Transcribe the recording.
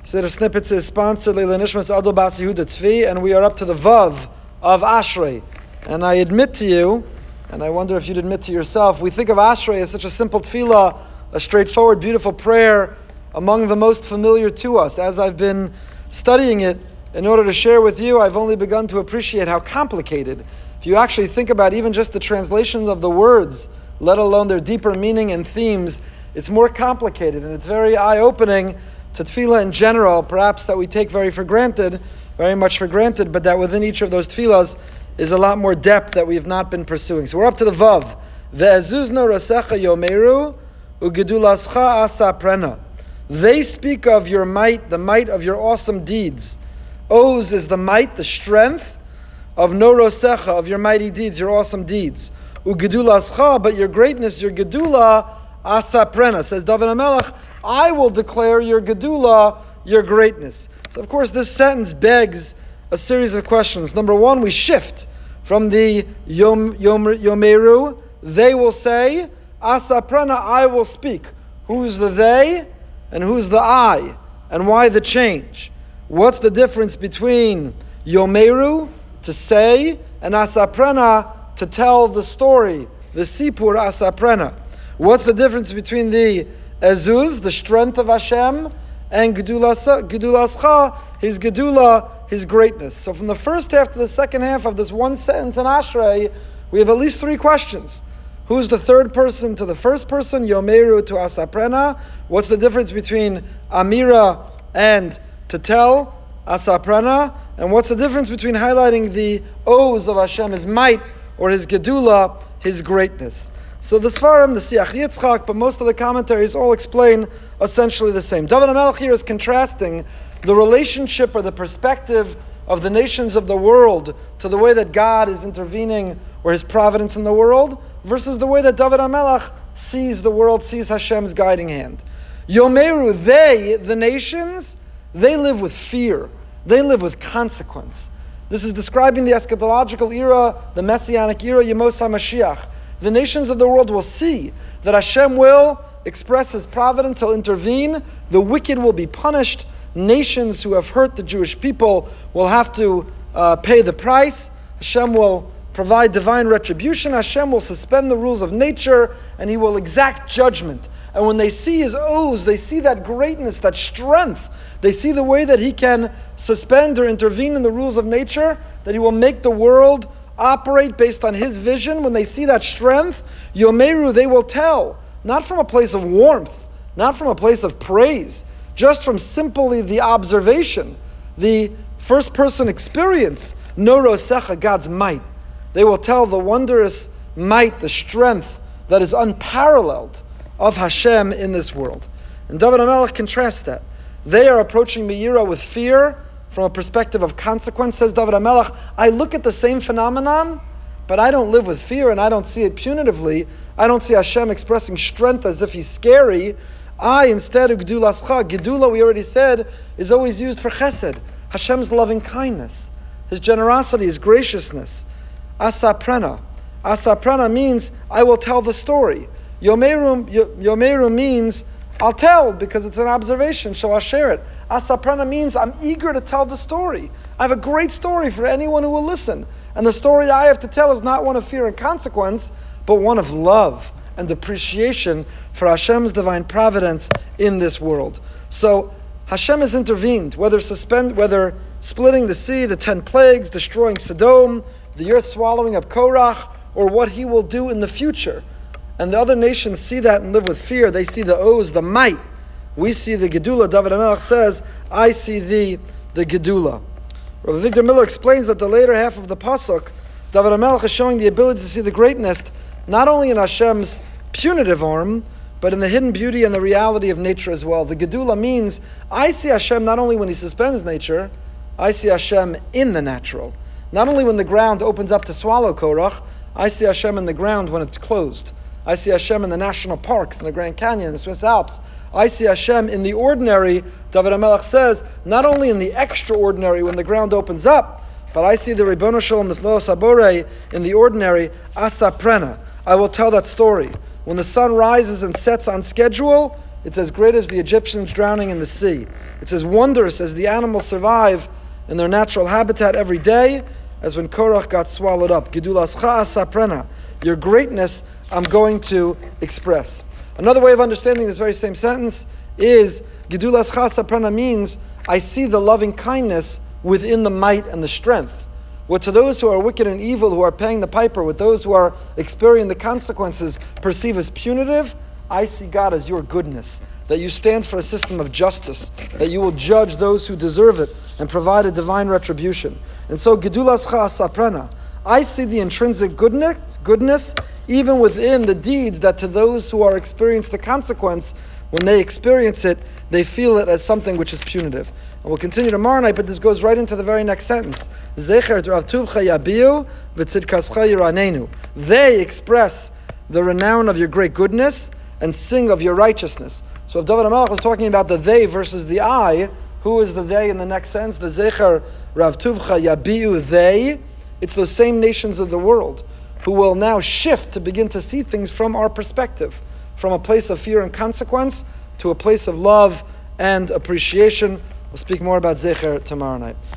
So the snippets is sponsored Leila Nishmas Adol Bas Yehuda Tzvi, and we are up to the Vav of Ashrei. And I admit to you, and I wonder if you'd admit to yourself, we think of Ashrei as such a simple tefillah, a straightforward, beautiful prayer, among the most familiar to us. As I've been studying it, in order to share with you, I've only begun to appreciate how complicated. If you actually think about even just the translations of the words, let alone their deeper meaning and themes, it's more complicated, and it's very eye-opening to tefillah in general, perhaps that we take very much for granted, but that within each of those tefillahs is a lot more depth that we have not been pursuing. So we're up to the Vav. Ve'ezuzno rasecha yomeru ugedulascha asaprena. They speak of your might, the might of your awesome deeds. Oz is the might, the strength of no rosecha, of your mighty deeds, your awesome deeds. Ugedulascha, but your greatness, your gedula, asaprena. Says David HaMelech, I will declare your gedula, your greatness. So of course this sentence begs a series of questions. Number one, we shift from the yomeru, they will say, asaprena, I will speak. Who's the they and who's the I? And why the change? What's the difference between yomeru, to say, and asaprena, to tell the story, the sipur asaprena? What's the difference between the ezuz, the strength of Hashem, and gedulascha, his gedula, his greatness? So from the first half to the second half of this one sentence in Ashrei, we have at least three questions. Who's the third person to the first person? Yomeru to asaprena. What's the difference between amira and to tell, asaprena? And what's the difference between highlighting the oz of Hashem, his might, or his gedula, his greatness? So the Sfarim, the Siach Yitzchak, but most of the commentaries all explain essentially the same. David HaMelech here is contrasting the relationship or the perspective of the nations of the world to the way that God is intervening or his providence in the world versus the way that David HaMelech sees the world, sees Hashem's guiding hand. Yomeru, they, the nations, they live with fear. They live with consequence. This is describing the eschatological era, the messianic era, Yemos HaMashiach. The nations of the world will see that Hashem will express his providence, he'll intervene, the wicked will be punished, nations who have hurt the Jewish people will have to pay the price, Hashem will provide divine retribution, Hashem will suspend the rules of nature, and he will exact judgment. And when they see his oz, they see that greatness, that strength, they see the way that he can suspend or intervene in the rules of nature, that he will make the world operate based on his vision. When they see that strength, yomeru, they will tell, not from a place of warmth, not from a place of praise, just from simply the observation, the first person experience, no rosecha, God's might. They will tell the wondrous might, the strength that is unparalleled of Hashem in this world. And David HaMelech contrasts that. They are approaching Meira with fear, from a perspective of consequence. Says David HaMelech, I look at the same phenomenon, but I don't live with fear and I don't see it punitively. I don't see Hashem expressing strength as if he's scary. I instead, Gedulascha, Gedula, we already said, is always used for chesed, Hashem's loving kindness, his generosity, his graciousness. Asaprena. Asaprena means, I will tell the story. Yomeru means, I'll tell because it's an observation, so I'll share it. Asaprena means I'm eager to tell the story. I have a great story for anyone who will listen. And the story I have to tell is not one of fear and consequence, but one of love and appreciation for Hashem's divine providence in this world. So Hashem has intervened, whether splitting the sea, the 10 plagues, destroying Sodom, the earth swallowing up Korach, or what he will do in the future. And the other nations see that and live with fear. They see the oz, the might. We see the gedula. David HaMelech says, I see the gedula. Rabbi Victor Miller explains that the later half of the pasuk, David HaMelech is showing the ability to see the greatness not only in Hashem's punitive arm, but in the hidden beauty and the reality of nature as well. The gedula means, I see Hashem not only when he suspends nature, I see Hashem in the natural. Not only when the ground opens up to swallow Korach, I see Hashem in the ground when it's closed. I see Hashem in the national parks, in the Grand Canyon, in the Swiss Alps. I see Hashem in the ordinary, David HaMelech says, not only in the extraordinary when the ground opens up, but I see the Ribbono Shalom, the Flo Sabore, in the ordinary, Asaprena. I will tell that story. When the sun rises and sets on schedule, it's as great as the Egyptians drowning in the sea. It's as wondrous as the animals survive in their natural habitat every day as when Korach got swallowed up. Gedulascha asaprena. Your greatness I'm going to express. Another way of understanding this very same sentence is Gedulascha asaprena means I see the loving kindness within the might and the strength. What to those who are wicked and evil, who are paying the piper, with those who are experiencing the consequences, perceive as punitive, I see God as your goodness, that you stand for a system of justice, that you will judge those who deserve it and provide a divine retribution. And so, Gedulascha asaprena, I see the intrinsic goodness even within the deeds that to those who are experiencing the consequence, when they experience it, they feel it as something which is punitive. And we'll continue tomorrow night, but this goes right into the very next sentence. Zecher Rav Tuvcha yabiu v'tzidkascha yiranenu. They express the renown of your great goodness and sing of your righteousness. So if David HaMelech was talking about the they versus the I, who is the they in the next sentence? The Zecher Rav Tuvcha yabiu they. It's those same nations of the world who will now shift to begin to see things from our perspective, from a place of fear and consequence to a place of love and appreciation. We'll speak more about Zecher tomorrow night.